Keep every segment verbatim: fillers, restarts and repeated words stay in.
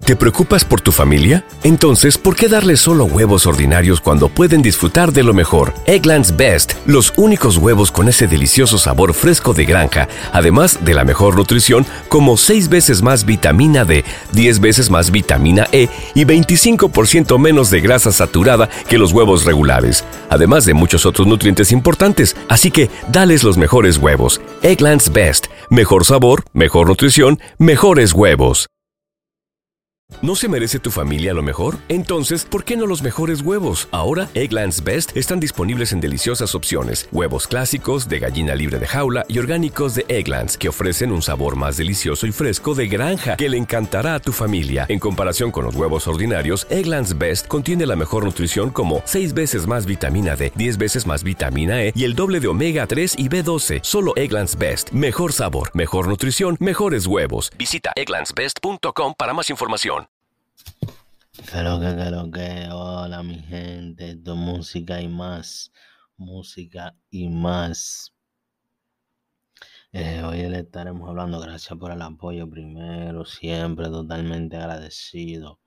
¿Te preocupas por tu familia? Entonces, ¿por qué darles solo huevos ordinarios cuando pueden disfrutar de lo mejor? Eggland's Best, los únicos huevos con ese delicioso sabor fresco de granja, además de la mejor nutrición, como seis veces más vitamina D, diez veces más vitamina E y veinticinco por ciento menos de grasa saturada que los huevos regulares, además de muchos otros nutrientes importantes. Así que, dales los mejores huevos. Eggland's Best, mejor sabor, mejor nutrición, mejores huevos. ¿No se merece tu familia lo mejor? Entonces, ¿por qué no los mejores huevos? Ahora, Eggland's Best están disponibles en deliciosas opciones. Huevos clásicos, de gallina libre de jaula y orgánicos de Eggland's, que ofrecen un sabor más delicioso y fresco de granja que le encantará a tu familia. En comparación con los huevos ordinarios, Eggland's Best contiene la mejor nutrición como seis veces más vitamina D, diez veces más vitamina E y el doble de omega tres y B doce. Solo Eggland's Best. Mejor sabor, mejor nutrición, mejores huevos. Visita egglands best punto com para más información. Que lo que, que lo que, hola mi gente, esto es música y más, música y más. Eh, hoy le estaremos hablando, gracias por el apoyo primero, siempre totalmente agradecido,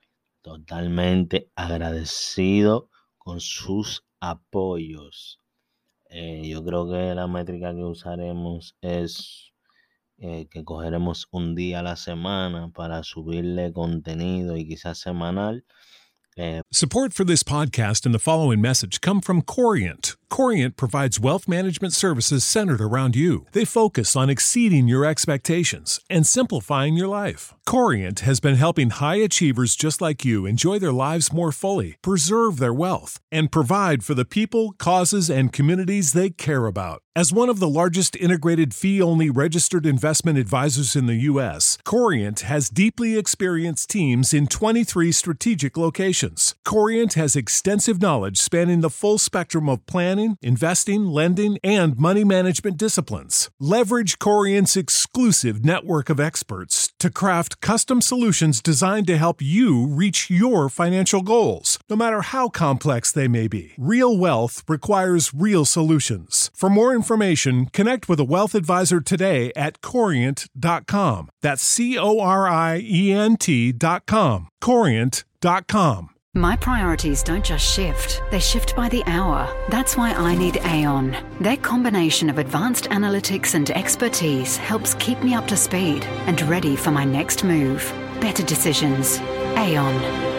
totalmente agradecido con sus apoyos. Eh, yo creo que la métrica que usaremos es... Eh, que cogeremos un día a la semana para subirle contenido y quizás semanal. Eh, Support for this podcast and the following message come from Corient. Corient provides wealth management services centered around you. They focus on exceeding your expectations and simplifying your life. Corient has been helping high achievers just like you enjoy their lives more fully, preserve their wealth, and provide for the people, causes, and communities they care about. As one of the largest integrated fee-only registered investment advisors in the U S, Corient has deeply experienced teams in twenty-three strategic locations. Corient has extensive knowledge spanning the full spectrum of planning, investing, lending, and money management disciplines. Leverage Corient's exclusive network of experts to craft custom solutions designed to help you reach your financial goals, no matter how complex they may be. Real wealth requires real solutions. For more information, connect with a wealth advisor today at corient dot com. That's C O R I E N T dot com. corient dot com. My priorities don't just shift, they shift by the hour. That's why I need Aon. Their combination of advanced analytics and expertise helps keep me up to speed and ready for my next move. Better decisions. Aon.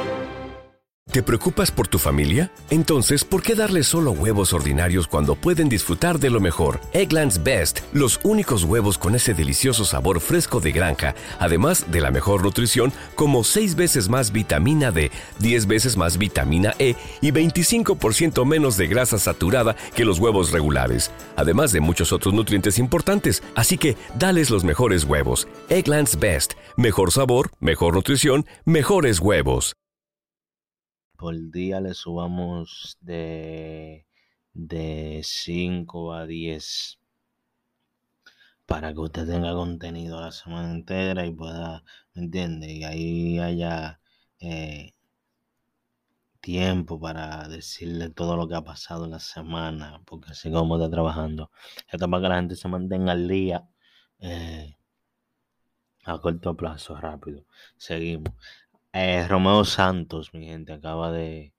¿Te preocupas por tu familia? Entonces, ¿por qué darles solo huevos ordinarios cuando pueden disfrutar de lo mejor? Eggland's Best, los únicos huevos con ese delicioso sabor fresco de granja, además de la mejor nutrición, como seis veces más vitamina D, diez veces más vitamina E y veinticinco por ciento menos de grasa saturada que los huevos regulares, además de muchos otros nutrientes importantes. Así que, dales los mejores huevos. Eggland's Best, mejor sabor, mejor nutrición, mejores huevos. por día le subamos de, de cinco a diez para que usted tenga contenido la semana entera y pueda, ¿me entiende? Y ahí haya eh, tiempo para decirle todo lo que ha pasado en la semana, porque así como está trabajando, esto es para que la gente se mantenga al día eh, a corto plazo, rápido. Seguimos. Eh, Romeo Santos, mi gente, acaba de...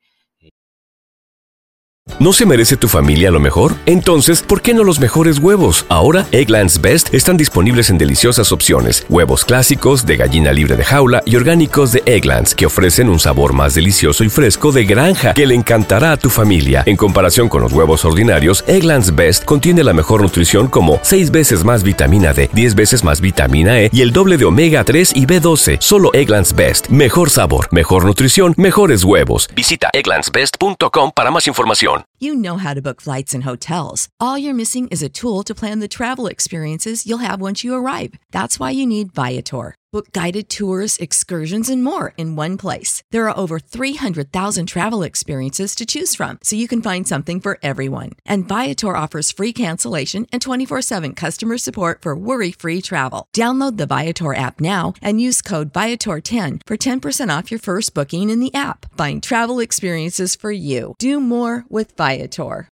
¿No se merece tu familia lo mejor? Entonces, ¿por qué no los mejores huevos? Ahora, Eggland's Best están disponibles en deliciosas opciones. Huevos clásicos, de gallina libre de jaula y orgánicos de Eggland's, que ofrecen un sabor más delicioso y fresco de granja que le encantará a tu familia. En comparación con los huevos ordinarios, Eggland's Best contiene la mejor nutrición como seis veces más vitamina D, diez veces más vitamina E y el doble de omega tres y B doce. Solo Eggland's Best. Mejor sabor, mejor nutrición, mejores huevos. Visita egglands best punto com para más información. You know how to book flights and hotels. All you're missing is a tool to plan the travel experiences you'll have once you arrive. That's why you need Viator. Book guided tours, excursions, and more in one place. There are over three hundred thousand travel experiences to choose from, so you can find something for everyone. And Viator offers free cancellation and twenty-four seven customer support for worry-free travel. Download the Viator app now and use code Viator ten for ten percent off your first booking in the app. Find travel experiences for you. Do more with Viator.